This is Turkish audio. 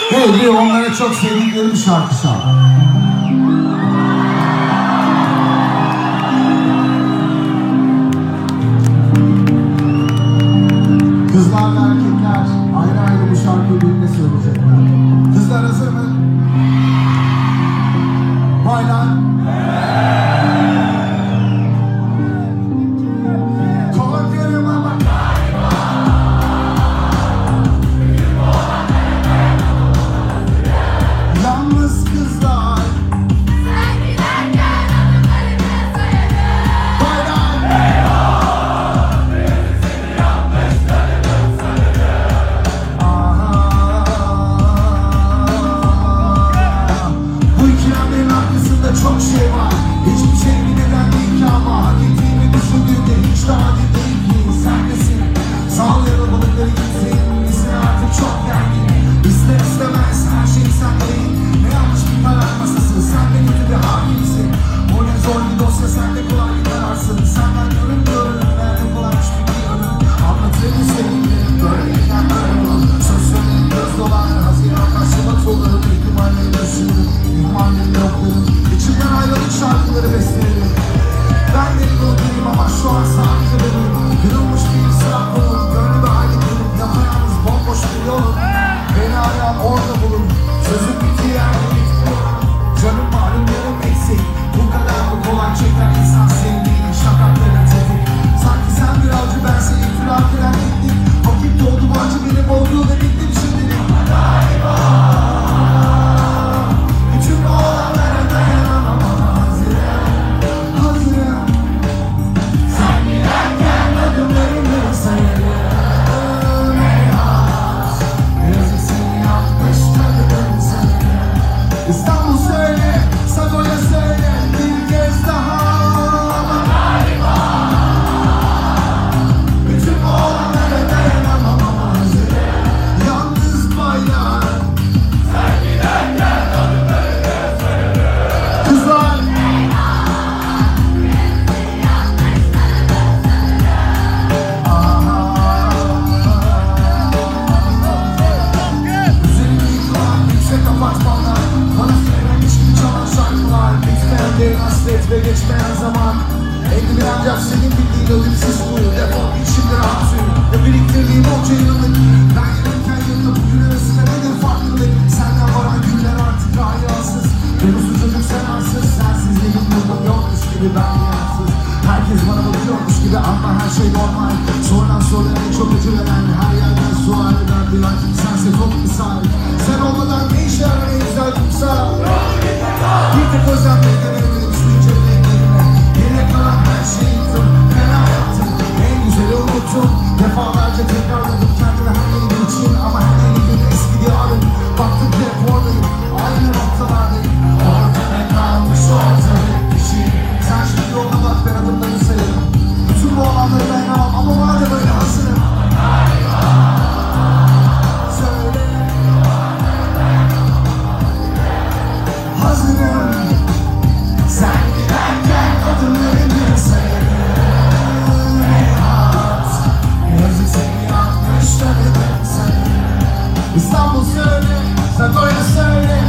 Hey, onlara çok sevdikleri bir şarkı çal. Kızlar ve erkekler ayrı ayrı bu şarkıyı birlikte söyleyecekler. Kızlar hazır mı? Baylar. Korkarım ama galiba yalnız kızlar. Sen giderken adımlarını sayarım. Baylar. Seni yanlışlarını Bu ikilemlerin arkasında çok şey var. Hiçbir şey bir neden değil ki ama hak ettiğimi düşündüğümde hiç de adil değil ki. Sen nesin? Sağlayalım balıkları gitsin. Misin artık çok gergin. İster istemez her şey sen değil. Ne yanlış bir karar masası. Sen de kötü bir hakimsin. O ne zor bir dosya, sen de kolay bir kararsın. Senden görünmüyorum. Nerede kolaymış bir yanın. Anlatırım sevgilim. Böyleyken böyle olur. Söz söyleyin göz dolar. Haziran'dan Şubat olur. İhtimalleri yaşıyorum. İhtimalleri yoklarım. İçimden ayrılık şarkıları beslerim. Ben deli doluyum ama şu an sadece benim. Kırılmış bir sıra kolum. Gönlümü halledelim. Yapayalnız bomboş bir yolum. Beni arayan orada bulun. Sözüm bittiği yerde bitmiyorum. Canım malum yarım eksik. Bu kadar mı kolay çeken insan sevdiğinin şakaklarına tepik. Sanki sen bir avcı, ben seni itiraf eden gittim. Vakit doldu bu acı benim olduğu ve bittim şimdilik. Bütün bu olanlara dayanamam ama hazırım. Sen giderken adımlarını sayarım. Eyvah, yazık seni yapmış tanıdım sanırım. İstanbul söyle, Sagoya söyle bir kez daha. Ama galiba bütün bu olanlara dayanamam ama hazırım. Yalnız baylar. Kızlar. Üzerime yıkılan yüksek apartmanlar, bana söylenmiş gibi çalan şarkılar. Bitmeyen derin hasret ve geçmeyen zaman. Elimi ancak senin bildiğin ölümsüz kuyu. Defol git şimdi rahat sür. Ve biriktirdiğim onca yıllık. Ben yanırken yanında bugün arasında nedir farklılık? Senden varan günler artık hayasız. Ben uzun çocuk sen arsız. Sensizliğin yolum yokmuş gibi ben yansız. Herkes bana bakıyormuş gibi ama her şey normal. Sonradan sonra en çok acı veren her yerden sual eden bir an. Sense çok misal. Sen olmadan ne işe yarar en güzel kumsal? Bir tek özlemlerden emelim şu ince bileklerime. Geriye kalan her şeyi yıktım. Fena yaptım. En güzeli unuttum. Defalarca tekrarladım kendime her yeni gün için. Ama her yeni gün eski diyarım. Baktım ki hep oradayım. Aynı noktalardayım. Orada ne kalmış orada bir şey. Sen şimdi yoluna bak, ben adımları sayarım. Bütün bu olanları dayanamam ama madem öyle hazırım. Söyle. Hazırım. Sen giderken adımlarını sayarım. Eyvah, yazık seni yanlış tanıdım sanırım. İstanbul söyle, Sagoya söyle.